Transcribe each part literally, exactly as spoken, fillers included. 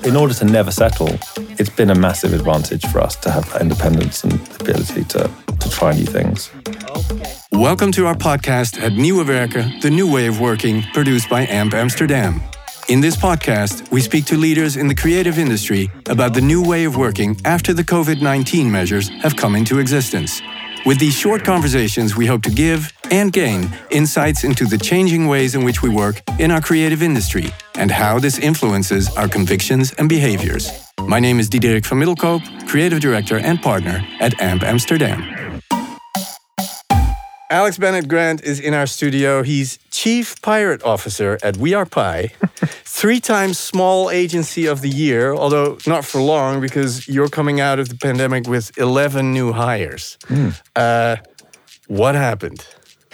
in order to never settle, it's been a massive advantage for us to have that independence and the ability to, to try new things. Welcome to our podcast at Nieuwe Werken, the new way of working, produced by A M P Amsterdam. In this podcast, we speak to leaders in the creative industry about the new way of working after the COVID nineteen measures have come into existence. With these short conversations, we hope to give and gain insights into the changing ways in which we work in our creative industry and how this influences our convictions and behaviors. My name is Diederik van Middelkoop, Creative Director and Partner at A M P Amsterdam. Alex Bennett Grant is in our studio. He's Chief Pirate Officer at We Are Pi, three times Small Agency of the Year, although not for long because you're coming out of the pandemic with eleven new hires. Mm. Uh, what happened?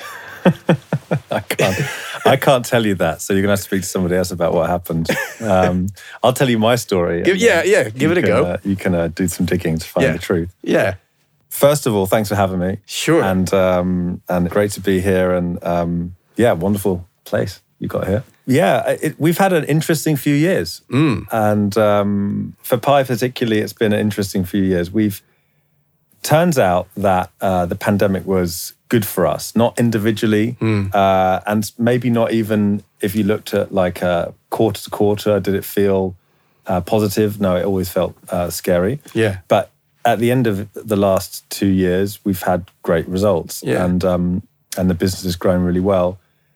I can't. I can't tell you that. So you're gonna have to speak to somebody else about what happened. Um, I'll tell you my story. Give, yeah, yeah. Give it a can, go. Uh, you can uh, do some digging to find yeah. the truth. Yeah. First of all, thanks for having me. Sure. And um, and great to be here. And um, yeah, wonderful place you got here. Yeah, it, we've had an interesting few years. Mm. And um, for Pi particularly, it's been an interesting few years. We've turns out that uh, the pandemic was good for us, not individually, mm. uh, and maybe not even if you looked at like uh, quarter to quarter, did it feel uh, positive? No, it always felt uh, scary. Yeah. But at the end of the last two years, we've had great results, yeah. and um, and the business has grown really well.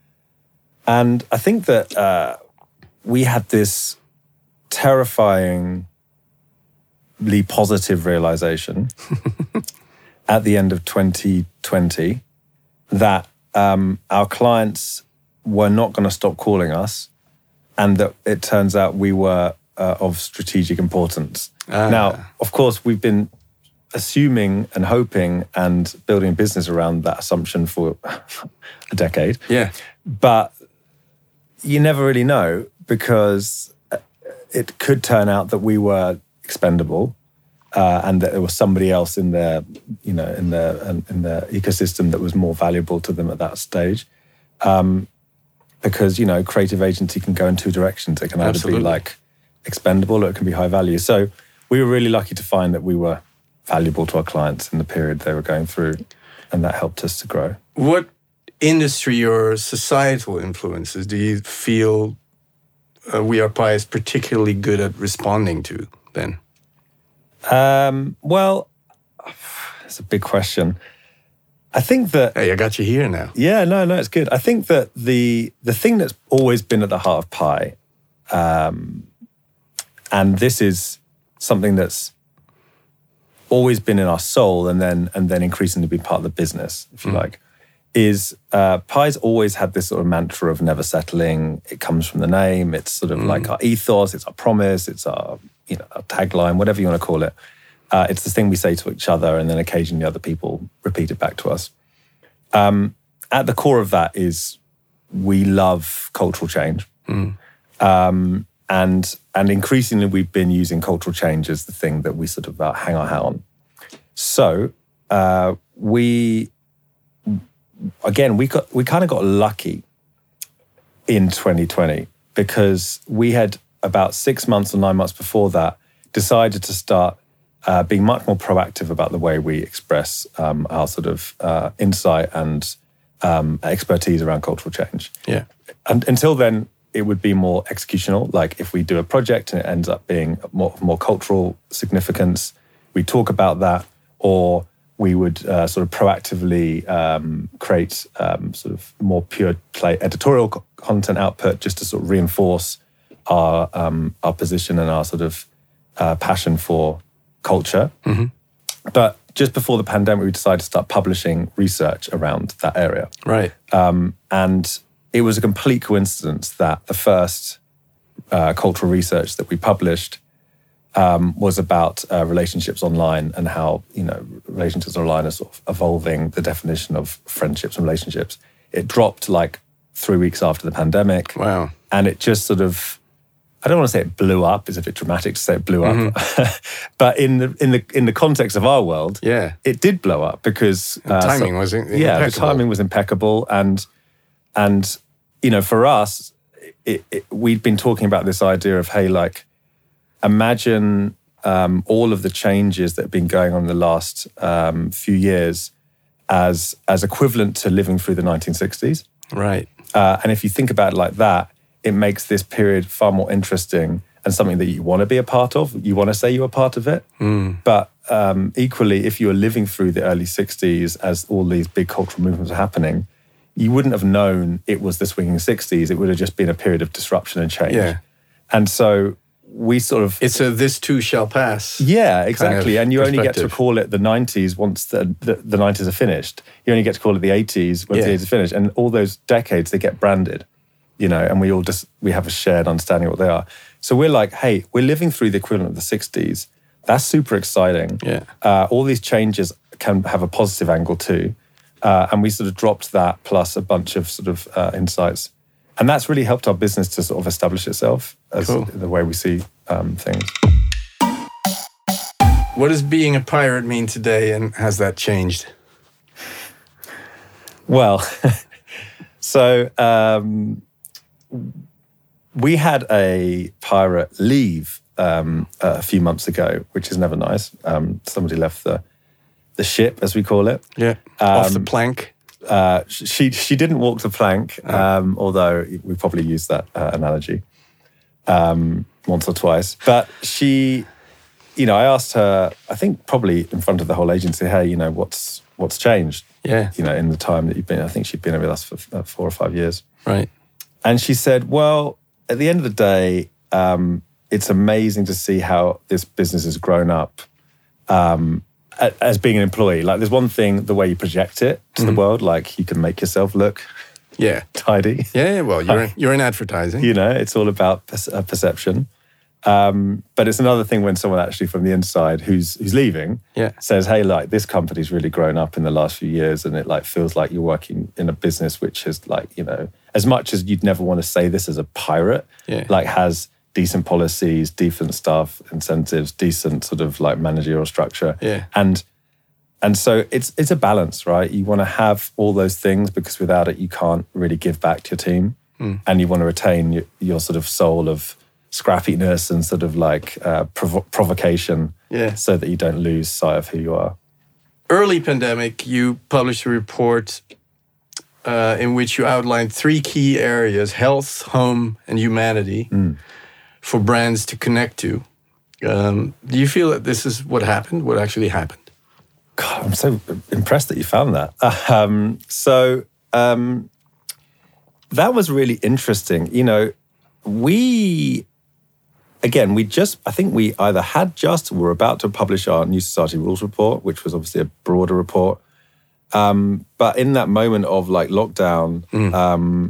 And I think that uh, we had this terrifyingly positive realization at the end of twenty twenty that um, our clients were not going to stop calling us, and that it turns out we were uh, of strategic importance. Ah. Now, of course, we've been assuming and hoping and building a business around that assumption for a decade. Yeah. But you never really know, because it could turn out that we were expendable uh, and that there was somebody else in their, you know, in their in their ecosystem that was more valuable to them at that stage. Um, because, you know, creative agency can go in two directions. It can either Absolutely. be like expendable or it can be high value. So we were really lucky to find that we were valuable to our clients in the period they were going through, and that helped us to grow. What industry or societal influences do you feel uh, We Are Pi is particularly good at responding to then? Um, well, it's a big question. I think that... Hey, I got you here now. Yeah, no, no, it's good. I think that the the thing that's always been at the heart of Pi, um, and this is something that's always been in our soul and then and then increasingly be part of the business, if you mm. like, is uh, Pi's always had this sort of mantra of never settling. It comes from the name. It's sort of mm. like our ethos. It's our promise. It's our, you know, our tagline, whatever you want to call it. Uh, it's the thing we say to each other, and then occasionally other people repeat it back to us. Um, at the core of that is we love cultural change. Mm. Um, and and increasingly we've been using cultural change as the thing that we sort of uh, hang our hat on. So uh, we, again, we got we kind of got lucky in twenty twenty, because we had about six months or nine months before that decided to start uh, being much more proactive about the way we express um, our sort of uh, insight and um, expertise around cultural change. Yeah. And until then, it would be more executional. Like if we do a project and it ends up being more, more cultural significance, we talk about that, or we would uh, sort of proactively um, create um, sort of more pure play editorial co- content output just to sort of reinforce our um, our position and our sort of uh, passion for culture. Mm-hmm. But just before the pandemic, we decided to start publishing research around that area. Right. Um, and it was a complete coincidence that the first uh, cultural research that we published um, was about uh, relationships online and how, you know, relationships online are sort of evolving the definition of friendships and relationships. It dropped like three weeks after the pandemic. Wow. And it just sort of, I don't want to say it blew up. It's a bit dramatic to say it blew up. Mm-hmm. But in the in the in the context of our world, yeah, it did blow up because uh, timing so, was impeccable. Yeah, the timing was impeccable, and and you know, for us, it, it, we'd been talking about this idea of, hey, like imagine um, all of the changes that have been going on in the last um, few years as as equivalent to living through the nineteen sixties. Right. Uh, and if you think about it like that, it makes this period far more interesting and something that you want to be a part of. You want to say you're a part of it. Mm. But um, equally, if you were living through the early sixties as all these big cultural movements were happening, you wouldn't have known it was the swinging sixties. It would have just been a period of disruption and change. Yeah. And so we sort of... It's a this too shall pass. Yeah, exactly. Kind of and you only get to perspective. call it the nineties once the, the, the nineties are finished. You only get to call it the eighties once Yeah. the eighties are finished. And all those decades, they get branded, you know, and we all just, we have a shared understanding of what they are. So we're like, hey, we're living through the equivalent of the sixties. That's super exciting. Yeah. Uh, all these changes can have a positive angle too. Uh, and we sort of dropped that plus a bunch of sort of uh, insights. And that's really helped our business to sort of establish itself as Cool. the way we see um, things. What does being a pirate mean today, and has that changed? Well, so um, we had a pirate leave um, a few months ago, which is never nice. Um, somebody left the the ship, as we call it. Yeah. Off the plank. Uh, she she didn't walk the plank, um, although we probably used that uh, analogy um, once or twice. But she, you know, I asked her, I think probably in front of the whole agency, hey, you know, what's what's changed? Yeah. You know, in the time that you've been, I think she'd been with us for uh, four or five years. Right. And she said, well, at the end of the day, um, it's amazing to see how this business has grown up. Um, as being an employee, like there's one thing, the way you project it to Mm-hmm. the world, like you can make yourself look Yeah. tidy. Yeah, well, you're you're in advertising. You know, it's all about perce- uh, perception. Um, but it's another thing when someone actually from the inside who's who's leaving Yeah. says, hey, like this company's really grown up in the last few years and it like feels like you're working in a business which is like, you know, as much as you'd never want to say this as a pirate, Yeah. like has decent policies, decent staff incentives, decent sort of like managerial structure. Yeah. And and so it's it's a balance, right? You want to have all those things because without it, you can't really give back to your team. Mm. And you want to retain your, your sort of soul of scrappiness and sort of like uh, provo- provocation Yeah. so that you don't lose sight of who you are. Early pandemic, you published a report uh, in which you outlined three key areas: health, home, and humanity, Mm. for brands to connect to. Um, do you feel that this is what happened? What actually happened? God, I'm so impressed that you found that. Um, so um, that was really interesting. You know, we, again, we just, I think we either had just or were about to publish our New Society Rules report, which was obviously a broader report. Um, but in that moment of like lockdown, Mm. um,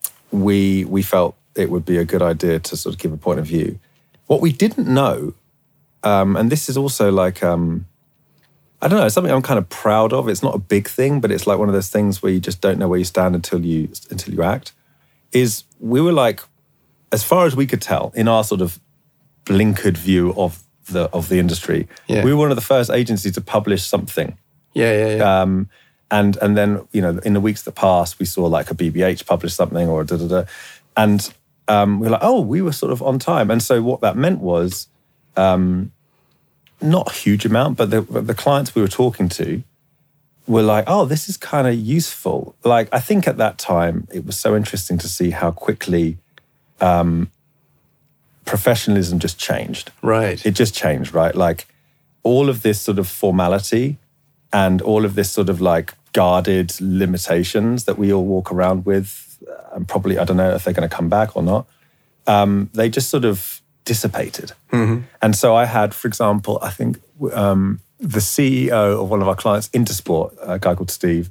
we we felt it would be a good idea to sort of give a point of view. What we didn't know, um, and this is also like, um, I don't know, it's something I'm kind of proud of. It's not a big thing, but it's like one of those things where you just don't know where you stand until you until you act. Is we were like, as far as we could tell, in our sort of blinkered view of the of the industry, Yeah. we were one of the first agencies to publish something. Yeah, yeah, yeah. Um, and and then, you know, in the weeks that passed, we saw like a B B H publish something or da da da. And um, we were like, oh, we were sort of on time. And so what that meant was, um, not a huge amount, but the, the clients we were talking to were like, oh, this is kind of useful. Like, I think at that time, it was so interesting to see how quickly um, professionalism just changed. Right. It just changed, right? Like all of this sort of formality and all of this sort of like guarded limitations that we all walk around with, and probably, I don't know if they're going to come back or not, um, they just sort of dissipated. Mm-hmm. And so I had, for example, I think um, the C E O of one of our clients, Intersport, a guy called Steve,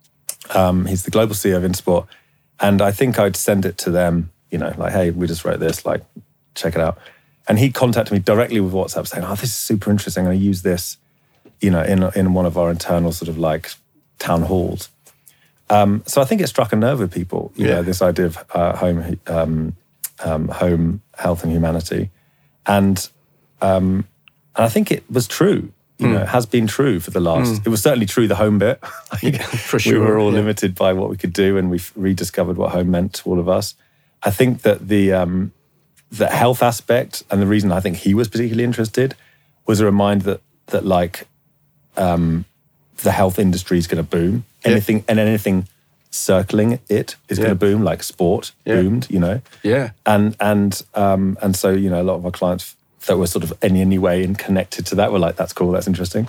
um, he's the global C E O of Intersport. And I think I'd send it to them, you know, like, hey, we just wrote this, like, check it out. And he contacted me directly with WhatsApp saying, oh, this is super interesting. I'm going to use this, you know, in in one of our internal sort of like town halls. Um, so I think it struck a nerve with people, you Yeah. know, this idea of uh, home, um, um, home health and humanity. And um, and I think it was true. You Mm. know, it has been true for the last, Mm. it was certainly true the home bit. Yeah, for sure. We were all yeah. limited by what we could do and we've rediscovered what home meant to all of us. I think that the um, the health aspect, and the reason I think he was particularly interested was a reminder that that like um, the health industry is going to boom. Anything yeah. and anything circling it is yeah. going to boom, like sport yeah. boomed, you know. Yeah. And and um, and so you know, a lot of our clients that were sort of in any way and connected to that were like, that's cool, that's interesting.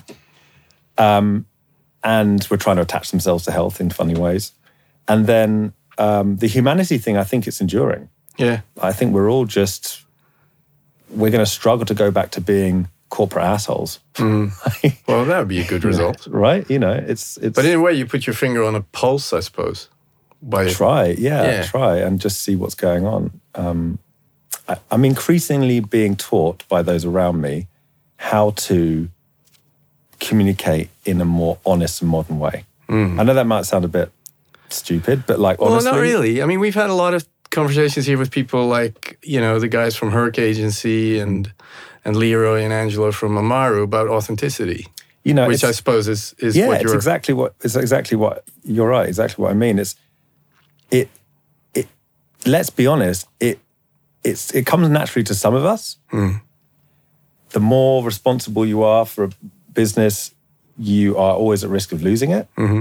Um, and we're trying to attach themselves to health in funny ways. And then um, the humanity thing, I think it's enduring. Yeah. I think we're all just, we're going to struggle to go back to being corporate assholes. Mm. Well, that would be a good result. Right? You know, it's, it's... But in a way, you put your finger on a pulse, I suppose. By Try, yeah, yeah. try and just see what's going on. Um, I, I'm increasingly being taught by those around me how to communicate in a more honest and modern way. Mm. I know that might sound a bit stupid, but like honestly... Well, not really. I mean, we've had a lot of conversations here with people like, you know, the guys from Herc Agency and and Leroy and Angelo from Amaru about authenticity. You know, which I suppose is is yeah, what you're... it's exactly what it's exactly what you're right. Exactly what I mean. It's it it. Let's be honest. It it's it comes naturally to some of us. Mm. The more responsible you are for a business, you are always at risk of losing it. Mm-hmm.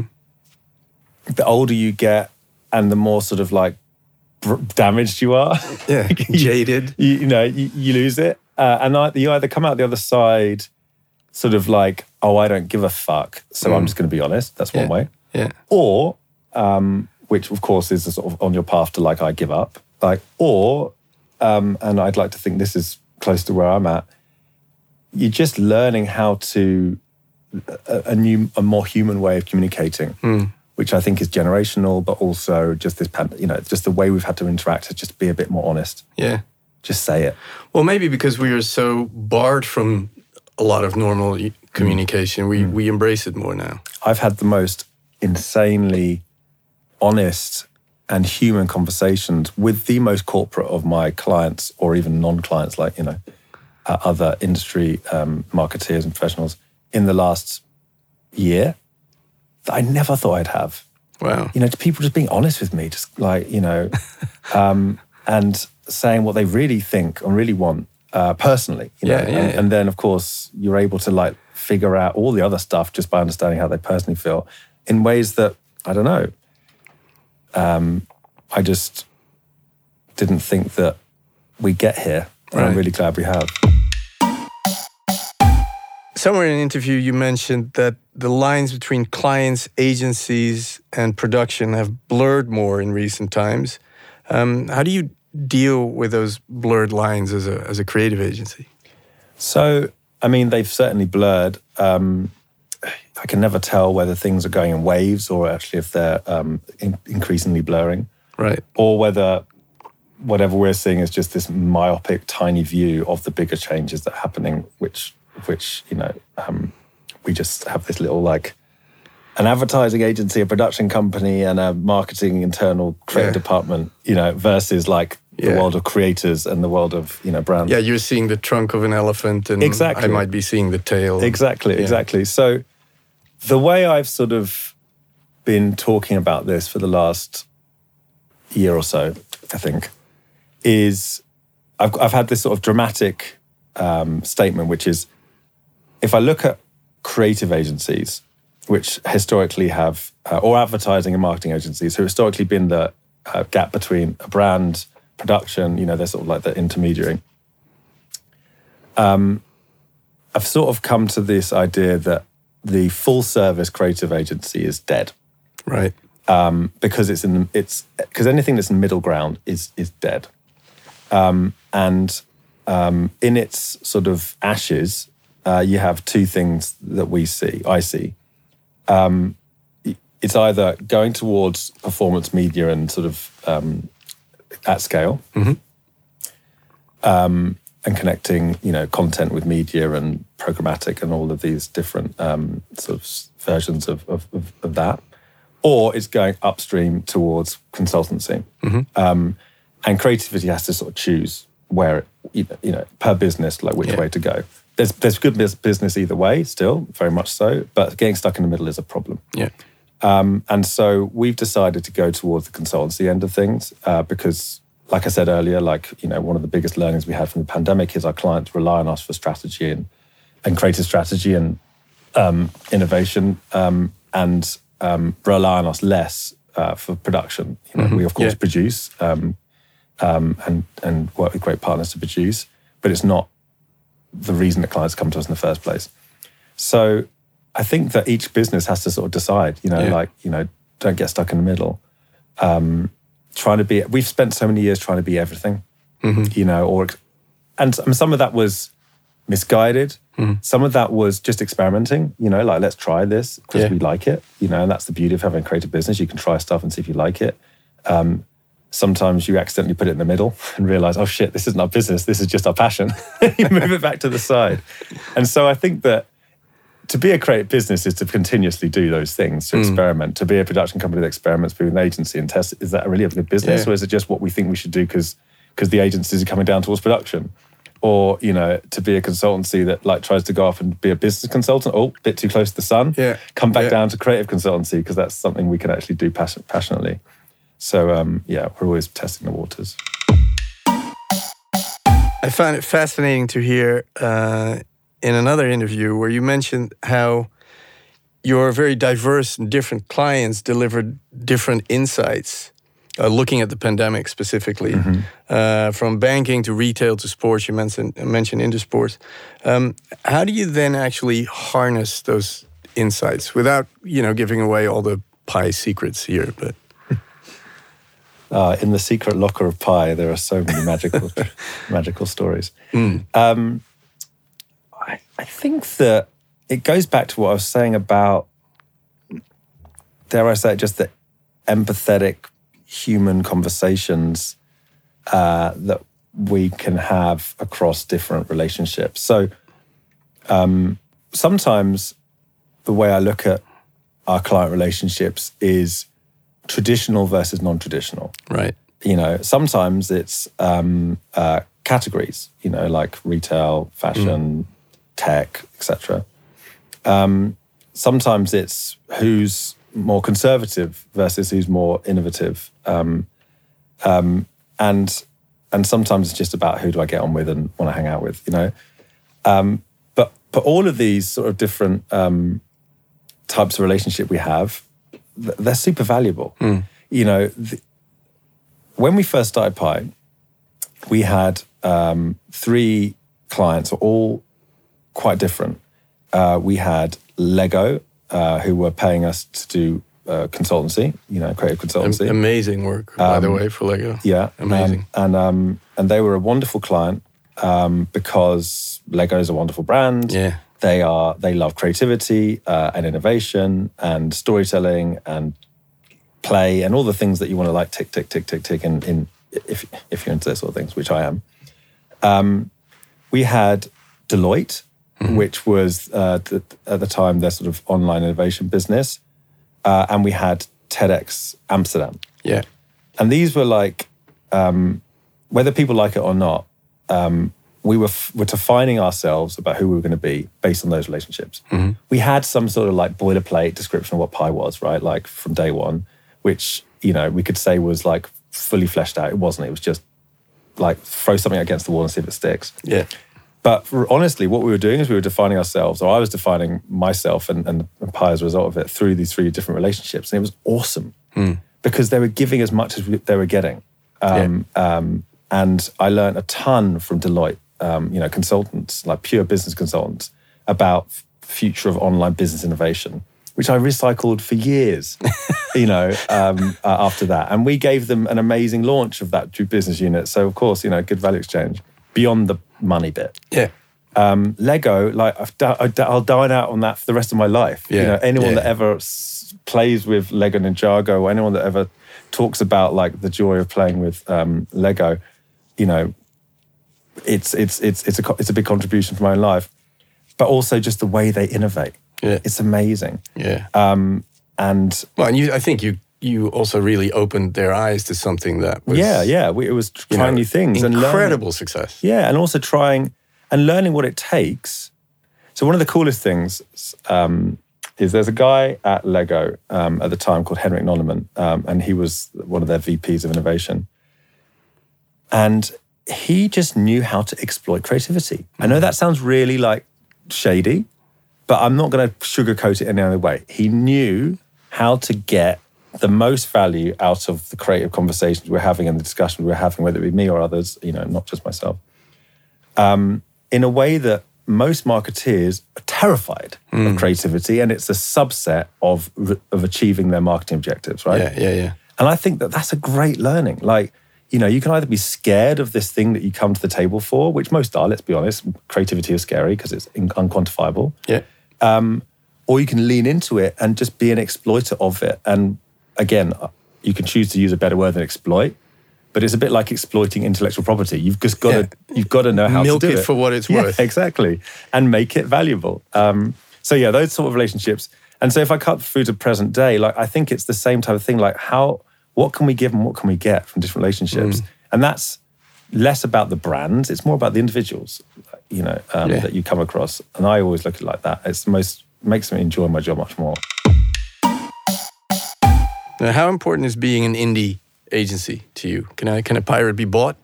The older you get, and the more sort of like damaged you are, yeah, jaded. you, you know, you, you lose it, uh, and I, you either come out the other side, sort of like, oh, I don't give a fuck, so mm. I'm just going to be honest. That's yeah. one way. Yeah. Or, um, which of course is a sort of on your path to like, I give up. Like, or, um, and I'd like to think this is close to where I'm at. You're just learning how to a, a new, a more human way of communicating. Mm. Which I think is generational, but also just this, you know, just the way we've had to interact, to just be a bit more honest. Yeah. Just say it. Well, maybe because we are so barred from a lot of normal communication, mm. we, mm. we embrace it more now. I've had the most insanely honest and human conversations with the most corporate of my clients, or even non-clients, like, you know, uh, other industry um, marketeers and professionals in the last year. That I never thought I'd have. Wow. You know, people just being honest with me, just like, you know, um, and saying what they really think or really want uh, personally. You know? Yeah, yeah, and, yeah. and then, of course, you're able to like figure out all the other stuff just by understanding how they personally feel in ways that, I don't know, um, I just didn't think that we get here. And right. I'm really glad we have. Somewhere in an interview, you mentioned that the lines between clients, agencies, and production have blurred more in recent times. Um, how do you deal with those blurred lines as a as a creative agency? So, I mean, they've certainly blurred. Um, I can never tell whether things are going in waves or actually if they're um, in- increasingly blurring. Right. Or whether whatever we're seeing is just this myopic, tiny view of the bigger changes that are happening, which... which, you know, um, we just have this little, like, an advertising agency, a production company, and a marketing internal creative yeah. department, you know, versus, like, the yeah. world of creators and the world of, you know, brands. Yeah, you're seeing the trunk of an elephant, and exactly. I might be seeing the tail. Exactly, yeah. exactly. So the way I've sort of been talking about this for the last year or so, I think, is I've, I've had this sort of dramatic um, statement, which is, if I look at creative agencies, which historically have, uh, or advertising and marketing agencies, who historically been the uh, gap between a brand, production, you know, they're sort of like the intermediary. Um, I've sort of come to this idea that the full service creative agency is dead, right? Um, because it's in the, it's because anything that's in middle ground is is dead, um, and um, in its sort of ashes. Uh, you have two things that we see, I see. Um, it's either going towards performance media and sort of um, at scale, mm-hmm. um, and connecting, you know, content with media and programmatic and all of these different um, sort of versions of, of, of, of that. Or it's going upstream towards consultancy. Mm-hmm. Um, and creativity has to sort of choose where, it, you know, per business, like which yeah. way to go. There's there's good business either way, still, very much so, but getting stuck in the middle is a problem. Yeah. Um, and so we've decided to go towards the consultancy end of things uh, because like I said earlier, like, you know, one of the biggest learnings we had from the pandemic is our clients rely on us for strategy and, and creative strategy and um, innovation um, and um, rely on us less uh, for production. You know, mm-hmm. we, of course, yeah. produce um, um, and, and work with great partners to produce, but it's not the reason that clients come to us in the first place. So I think that each business has to sort of decide, you know, yeah. like, you know, don't get stuck in the middle. Um, trying to be, we've spent so many years trying to be everything, mm-hmm. you know, or, and some of that was misguided. Mm-hmm. Some of that was just experimenting, you know, like, let's try this because yeah. we like it, you know, and that's the beauty of having a creative business. You can try stuff and see if you like it. Um, sometimes you accidentally put it in the middle and realize, oh shit, this isn't our business. This is just our passion. You move it back to the side. And so I think that to be a creative business is to continuously do those things, to mm. experiment. To be a production company that experiments, be an agency and test, is that really a good business? Yeah. Or is it just what we think we should do because because the agencies are coming down towards production? Or, you know, to be a consultancy that like tries to go off and be a business consultant, oh, a bit too close to the sun, yeah. come back yeah. down to creative consultancy because that's something we can actually do passion, passionately. So, um, yeah, we're always testing the waters. I found it fascinating to hear uh, in another interview where you mentioned how your very diverse and different clients delivered different insights, uh, looking at the pandemic specifically, mm-hmm. uh, from banking to retail to sports. You mentioned, mentioned Intersport. Um, how do you then actually harness those insights without, you know, giving away all the pie secrets here? But uh, in the secret locker of pie, there are so many magical, magical stories. Mm. Um, I, I think that it goes back to what I was saying about, dare I say it, just the empathetic human conversations uh, that we can have across different relationships. So um, sometimes the way I look at our client relationships is traditional versus non-traditional. Right. You know, sometimes it's um, uh, categories, you know, like retail, fashion, mm. tech, et cetera. Um, sometimes it's who's more conservative versus who's more innovative. Um, um, and and sometimes it's just about who do I get on with and want to hang out with, you know. Um, but, but all of these sort of different um, types of relationship we have, they're super valuable. Mm. You know, the, when we first started Pi, we had um, three clients, all quite different. Uh, we had Lego, uh, who were paying us to do uh, consultancy, you know, creative consultancy. Amazing work, by um, the way, for Lego. Yeah. Amazing. And and, um, and they were a wonderful client um, because Lego is a wonderful brand. Yeah. They are. They love creativity uh, and innovation and storytelling and play and all the things that you want to like tick, tick, tick, tick, tick. In, in if if you're into those sort of things, which I am. Um, we had Deloitte, mm-hmm. which was uh, the, at the time their sort of online innovation business, uh, and we had TEDx Amsterdam. Yeah, and these were like, um, whether people like it or not. Um, We were f- were defining ourselves about who we were going to be based on those relationships. Mm-hmm. We had some sort of like boilerplate description of what Pi was, right? Like from day one, which, you know, we could say was like fully fleshed out. It wasn't. It was just like throw something against the wall and see if it sticks. Yeah. But for, honestly, what we were doing is we were defining ourselves, or I was defining myself and, and, and Pi as a result of it through these three different relationships. And it was awesome mm. because they were giving as much as we, they were getting. Um, yeah. um, and I learned a ton from Deloitte. Um, you know, consultants, like pure business consultants, about future of online business innovation, which I recycled for years, you know, um, uh, after that. And we gave them an amazing launch of that business unit. So, of course, you know, good value exchange beyond the money bit. Yeah. Um, Lego, like, I've di- I'll dine out on that for the rest of my life. Yeah. You know, anyone yeah. that ever s- plays with Lego Ninjago or anyone that ever talks about, like, the joy of playing with um, Lego, you know, It's it's it's it's a it's a big contribution from my own life, but also just the way they innovate. Yeah, it's amazing. Yeah, um, and well, and you, I think you you also really opened their eyes to something that was yeah yeah. We, it was trying you know, new things incredible and incredible success. Yeah, and also trying and learning what it takes. So one of the coolest things um, is there's a guy at Lego um, at the time called Henrik Nollemann, um, and he was one of their V Ps of innovation. And he just knew how to exploit creativity. I know that sounds really like shady, but I'm not going to sugarcoat it any other way. He knew how to get the most value out of the creative conversations we're having and the discussions we're having, whether it be me or others, you know, not just myself, um, in a way that most marketeers are terrified mm. of creativity, and it's a subset of of achieving their marketing objectives, right? Yeah, yeah, yeah. And I think that that's a great learning. Like, you know, you can either be scared of this thing that you come to the table for, which most are, let's be honest. Creativity is scary because it's unquantifiable. Yeah. Um, or you can lean into it and just be an exploiter of it. And again, you can choose to use a better word than exploit, but it's a bit like exploiting intellectual property. You've just got yeah. to you've got to know how Milk to do it. it for what it's yeah, worth. Exactly. And make it valuable. Um, so yeah, those sort of relationships. And so if I cut through to present day, like I think it's the same type of thing. Like how, what can we give and what can we get from different relationships? Mm. And that's less about the brands. It's more about the individuals, you know, um, yeah. that you come across. And I always look at it like that. It's the most, makes me enjoy my job much more. Now, how important is being an indie agency to you? Can I, can a pirate be bought?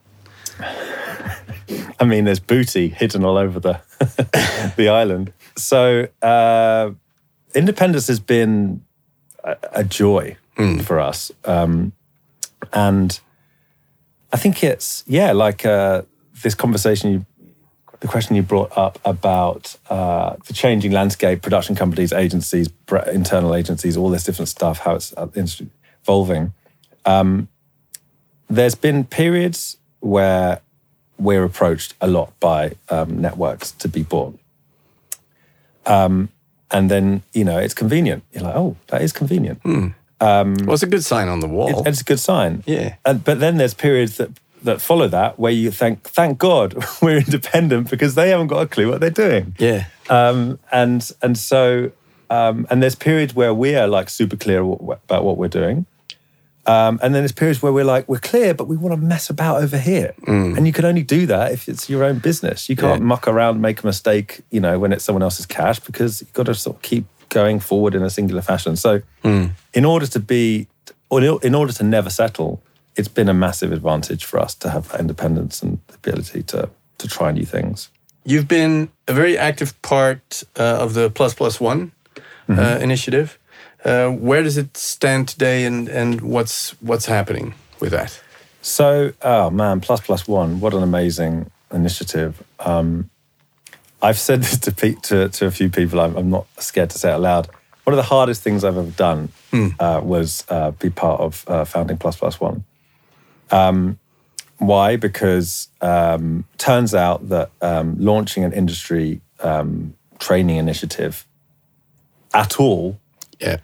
I mean, there's booty hidden all over the the island. So uh, independence has been a, a joy mm. for us. Um, and I think it's, yeah, like uh, this conversation, you, the question you brought up about uh, the changing landscape, production companies, agencies, internal agencies, all this different stuff, how it's evolving. Um, there's been periods where we're approached a lot by um, networks to be bought. Um, and then, you know, it's convenient. You're like, oh, that is convenient. Hmm. Um, well, it's a good sign on the wall. It, it's a good sign. Yeah. And, but then there's periods that, that follow that where you think, thank God we're independent because they haven't got a clue what they're doing. Yeah. Um, and and so, um, and there's periods where we are like super clear about what we're doing. Um, and then there's periods where we're like, we're clear, but we want to mess about over here. Mm. And you can only do that if it's your own business. You can't yeah. muck around, make a mistake, you know, when it's someone else's cash, because you've got to sort of keep going forward in a singular fashion. So mm. in order to be, or in order to never settle, it's been a massive advantage for us to have that independence and the ability to to try new things. You've been a very active part uh, of the Plus Plus One mm-hmm. uh, initiative. Uh, where does it stand today, and, and what's what's happening with that? So, oh man, Plus Plus One, what an amazing initiative. Um, I've said this to, pe- to to a few people. I'm, I'm not scared to say it out loud. One of the hardest things I've ever done mm. uh, was uh, be part of uh, founding Plus Plus One. Um, why? Because um, turns out that um, launching an industry um, training initiative at all yeah.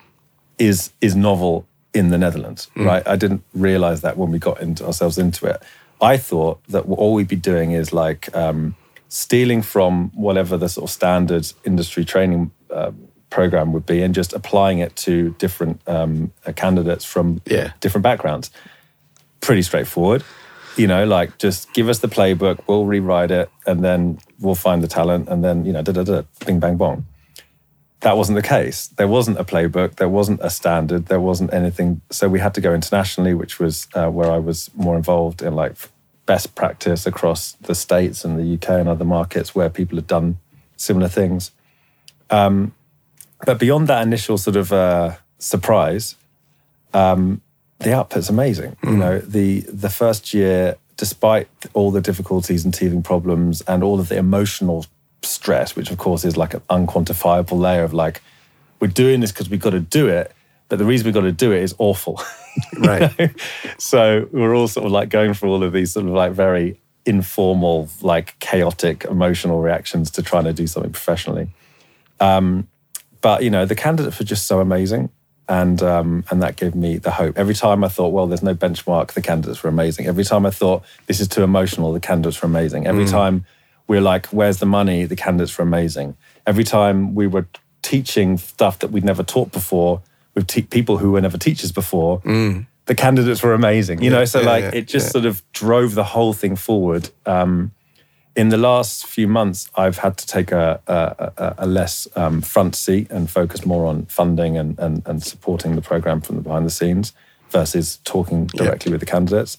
is is novel in the Netherlands, mm. right? I didn't realize that when we got into ourselves into it. I thought that all we'd be doing is like um, stealing from whatever the sort of standard industry training uh, program would be and just applying it to different um, candidates from yeah. different backgrounds. Pretty straightforward, you know, like just give us the playbook, we'll rewrite it, and then we'll find the talent, and then, you know, da da da, bing, bang, bong. That wasn't the case. There wasn't a playbook, there wasn't a standard, there wasn't anything. So we had to go internationally, which was uh, where I was more involved in like best practice across the States and the U K and other markets where people had done similar things. Um, but beyond that initial sort of uh, surprise, um, the output's amazing. Mm. You know, the the first year, despite all the difficulties and teething problems and all of the emotional stress, which of course is like an unquantifiable layer of like, we're doing this because we've got to do it, but the reason we've got to do it is awful. Right. You know? So we're all sort of like going through all of these sort of like very informal, like chaotic emotional reactions to trying to do something professionally. Um, but, you know, the candidates were just so amazing. And um, and that gave me the hope. Every time I thought, well, there's no benchmark, the candidates were amazing. Every time I thought, this is too emotional, the candidates were amazing. Every mm. time we're like, where's the money, the candidates were amazing. Every time we were teaching stuff that we'd never taught before with te- people who were never teachers before, mm. the candidates were amazing. You yeah, know, so yeah, like yeah, it just yeah. sort of drove the whole thing forward. Um, in the last few months, I've had to take a, a, a less um, front seat and focus more on funding and, and, and supporting the program from the behind the scenes versus talking directly yeah. with the candidates.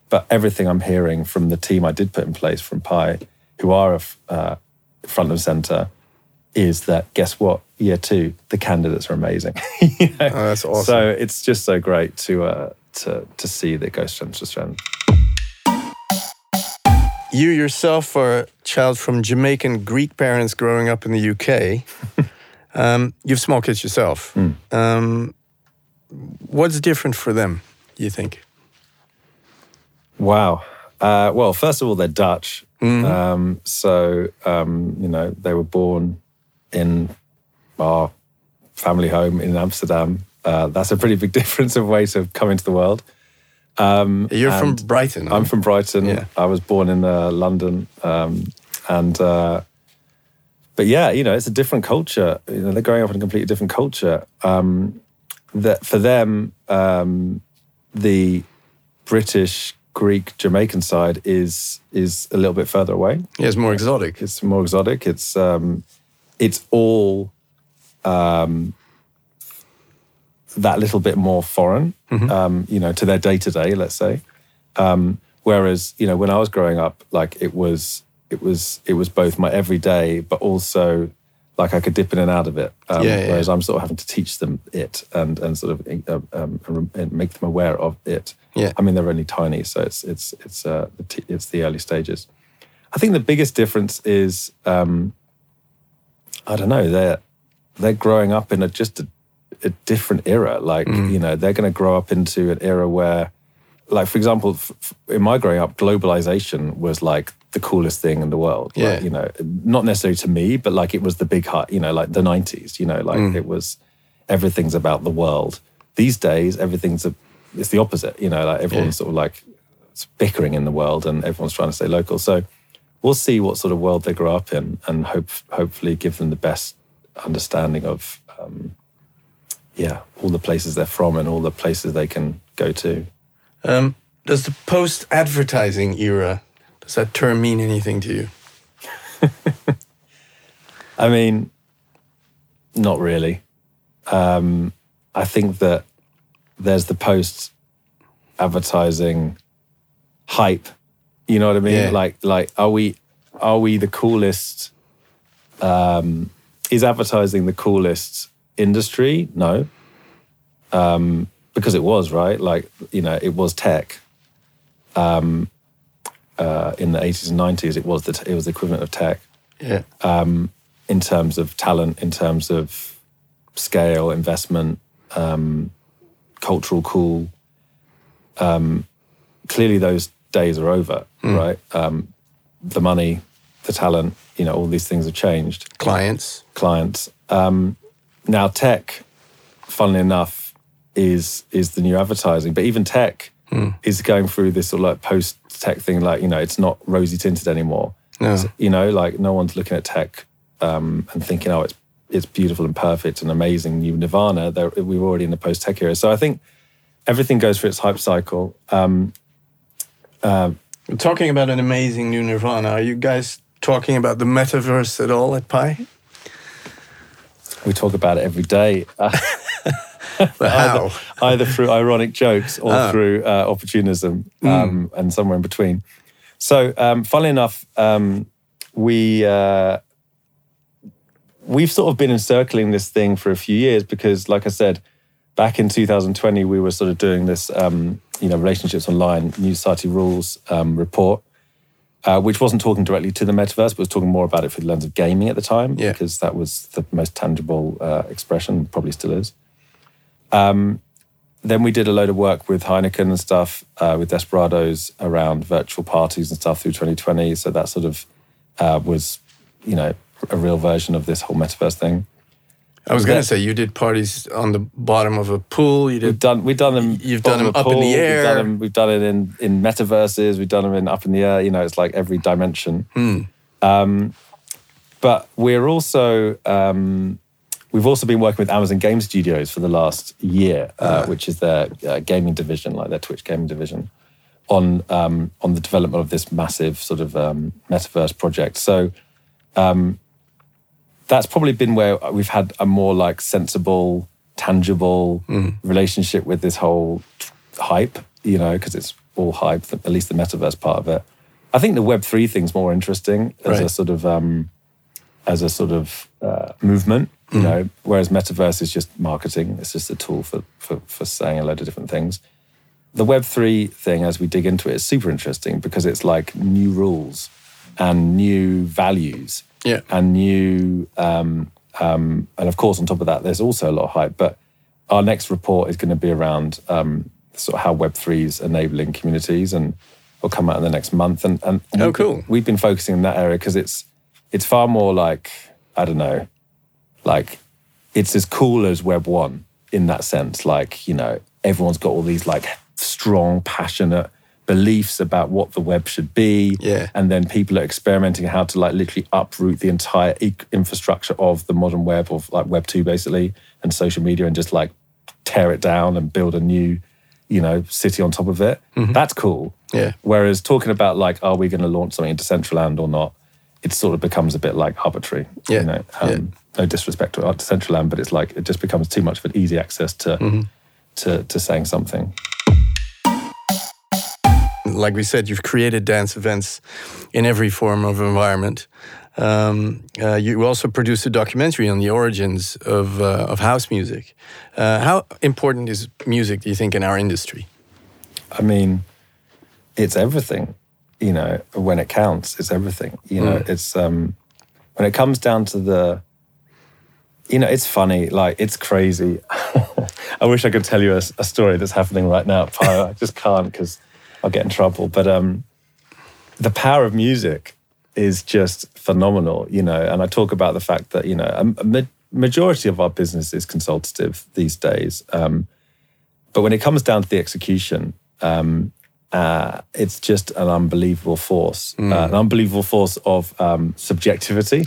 but everything I'm hearing from the team I did put in place from Pi, who are uh, front and center, is that, guess what? Year two, the candidates are amazing. you know? Oh, that's awesome. So it's just so great to uh, to to see that go strength to strength. You yourself are a child from Jamaican Greek parents growing up in the U K. um, you have small kids yourself. Mm. Um, what's different for them, you think? Wow. Uh, well, first of all, they're Dutch. Mm-hmm. Um, so, um, you know, they were born in our family home in Amsterdam. Uh, that's a pretty big difference of way to come into the world. Um, You're from Brighton. I'm from Brighton. Yeah. I was born in uh, London. Um, and, uh, but yeah, you know, it's a different culture. You know, they're growing up in a completely different culture. Um, that for them, um, the British, Greek, Jamaican side is is a little bit further away. Yeah, it's more exotic. It's more exotic. It's um, it's all um, that little bit more foreign, mm-hmm. um, you know, to their day to day. Let's say. Um, whereas, you know, when I was growing up, like it was, it was, it was both my everyday, but also like I could dip in and out of it. Um, yeah, yeah. Whereas I'm sort of having to teach them it and and sort of uh, um, and make them aware of it. Yeah. I mean, they're only tiny, so it's it's it's uh, it's the early stages. I think the biggest difference is um, I don't know, they're they're growing up in a just a, a different era. Like mm. you know, they're going to grow up into an era where, like for example, f- in my growing up, globalization was like the coolest thing in the world. Yeah. Like, you know, not necessarily to me, but like it was the big hot. You know, like the nineties. You know, like mm. it was everything's about the world. These days, everything's a it's the opposite, you know, like everyone's yeah. sort of like bickering in the world and everyone's trying to stay local. So we'll see what sort of world they grow up in and hope, hopefully give them the best understanding of, um, yeah, all the places they're from and all the places they can go to. Um, does the post-advertising era, does that term mean anything to you? I mean, not really. Um, I think that there's the post-advertising hype. You know what I mean? Yeah. Like, like, are we, are we the coolest? Um, is advertising the coolest industry? No, um, because it was, right. Like, you know, it was tech. Um, uh, in the eighties and nineties, it was the t- it was the equivalent of tech. Yeah. Um, in terms of talent, in terms of scale, investment. Um, cultural cool. Um, clearly those days are over, mm. right? Um, the money, the talent, you know, all these things have changed. Clients. Clients. Um, now tech, funnily enough, is is the new advertising. But even tech mm. is going through this sort of like post-tech thing, like, you know, it's not rosy tinted anymore. No. So, you know, like no one's looking at tech um, and thinking, oh, it's it's beautiful and perfect and amazing, new nirvana. They're, we're already in the post-tech era. So I think everything goes through its hype cycle. Um, uh, We're talking about an amazing new nirvana. Are you guys talking about the metaverse at all at Pi? We talk about it every day. Uh, but how? Either, either through ironic jokes or oh. through uh, opportunism um, mm. and somewhere in between. So um, funnily enough, um, we... Uh, We've sort of been encircling this thing for a few years because, like I said, back in two thousand twenty, we were sort of doing this, um, you know, relationships online, New Society Rules um, report, uh, which wasn't talking directly to the metaverse, but was talking more about it through the lens of gaming at the time, yeah. because that was the most tangible uh, expression, probably still is. Um, then we did a load of work with Heineken and stuff, uh, with Desperados around virtual parties and stuff through twenty twenty. So that sort of uh, was, you know, a real version of this whole metaverse thing. I was going to say, you did parties on the bottom of a pool. You did. We've done. We've done them. You've done them up pool, in the air. We've done, them, we've done it in in metaverses. We've done them in up in the air. You know, it's like every dimension. Hmm. Um, but we're also um, we've also been working with Amazon Game Studios for the last year, uh, uh. which is their uh, gaming division, like their Twitch gaming division, on um, on the development of this massive sort of um, metaverse project. So. Um, That's probably been where we've had a more like sensible, tangible mm. relationship with this whole hype, you know, because it's all hype, at least the metaverse part of it. I think the Web three thing's more interesting as Right. a sort of um, as a sort of uh, movement, you Mm. know, whereas metaverse is just marketing. It's just a tool for, for, for saying a load of different things. The Web three thing, as we dig into it, is super interesting because it's like new rules and new values Yeah. and new, um, um, and of course, on top of that, there's also a lot of hype. But our next report is going to be around um, sort of how Web three is enabling communities, and will come out in the next month. And, and Oh, we've, cool. We've been focusing in that area because it's it's far more like, I don't know, like it's as cool as Web one in that sense. Like, you know, everyone's got all these like strong, passionate beliefs about what the web should be. Yeah. And then people are experimenting how to like literally uproot the entire e- infrastructure of the modern web, of like Web two basically, and social media, and just like tear it down and build a new, you know, city on top of it. That's cool. Yeah. Whereas talking about like, are we going to launch something into Decentraland or not? It sort of becomes a bit like arbitrary. Yeah. You know, um, Yeah. no disrespect to Decentraland, but it's like it just becomes too much of an easy access to to to saying something. Like we said, you've created dance events in every form of environment. Um, uh, you also produced a documentary on the origins of uh, of house music. Uh, how important is music, do you think, in our industry? I mean, it's everything. You know, when it counts, it's everything. You know, it's um, when it comes down to the. You know, it's funny. Like, it's crazy. I wish I could tell you a, a story that's happening right now at Pyre. I just can't because I'll get in trouble. But um, the power of music is just phenomenal, you know. And I talk about the fact that, you know, a, a ma- majority of our business is consultative these days. Um, but when it comes down to the execution, um, uh, it's just an unbelievable force, uh, an unbelievable force of um, subjectivity.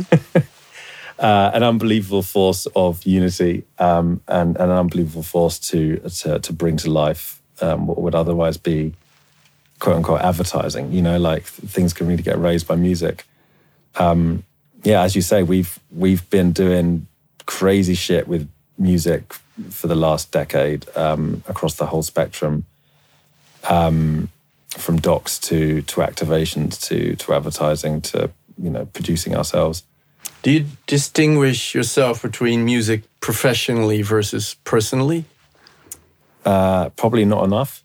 Uh, an unbelievable force of unity, um, and, and an unbelievable force to to, to bring to life um, what would otherwise be quote unquote advertising. You know, like things can really get raised by music. Um, yeah, as you say, we've we've been doing crazy shit with music for the last decade um, across the whole spectrum, um, from docs to to activations to to advertising to, you know, producing ourselves. Do you distinguish yourself between music professionally versus personally? Uh, probably not enough.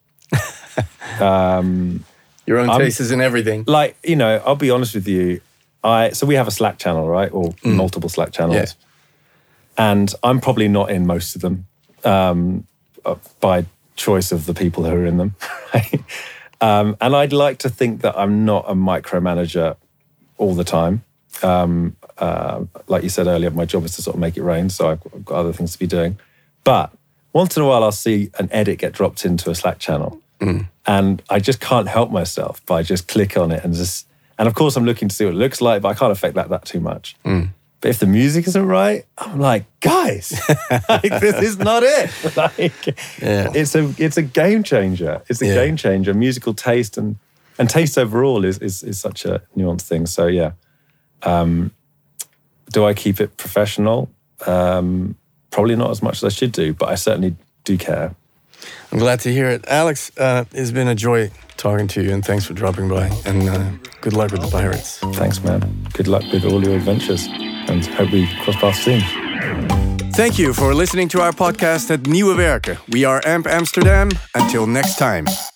um, Your own I'm- taste is in everything. like, you know, I'll be honest with you. I so we have a Slack channel, right, or multiple Slack channels, Yeah. and I'm probably not in most of them um, uh, by choice of the people who are in them. Right? Um, and I'd like to think that I'm not a micromanager all the time. Um, uh, like you said earlier, my job is to sort of make it rain, so I've I've got other things to be doing. But once in a while, I'll see an edit get dropped into a Slack channel, and I just can't help myself by just click on it and just. And of course, I'm looking to see what it looks like, but I can't affect that that too much. But if the music isn't right, I'm like, guys, like, this is not it. Like, Yeah. it's a it's a game changer. It's a Yeah. game changer. Musical taste and and taste overall is is is such a nuanced thing. So yeah. Um, do I keep it professional? Um, probably not as much as I should do, but I certainly do care. I'm glad to hear it. Alex, uh, it's been a joy talking to you, and thanks for dropping by. And uh, good luck with the Pirates. Thanks, man. Good luck with all your adventures, and hope we cross paths soon. Thank you for listening to our podcast at Nieuwe Werken. We are A M P Amsterdam. Until next time.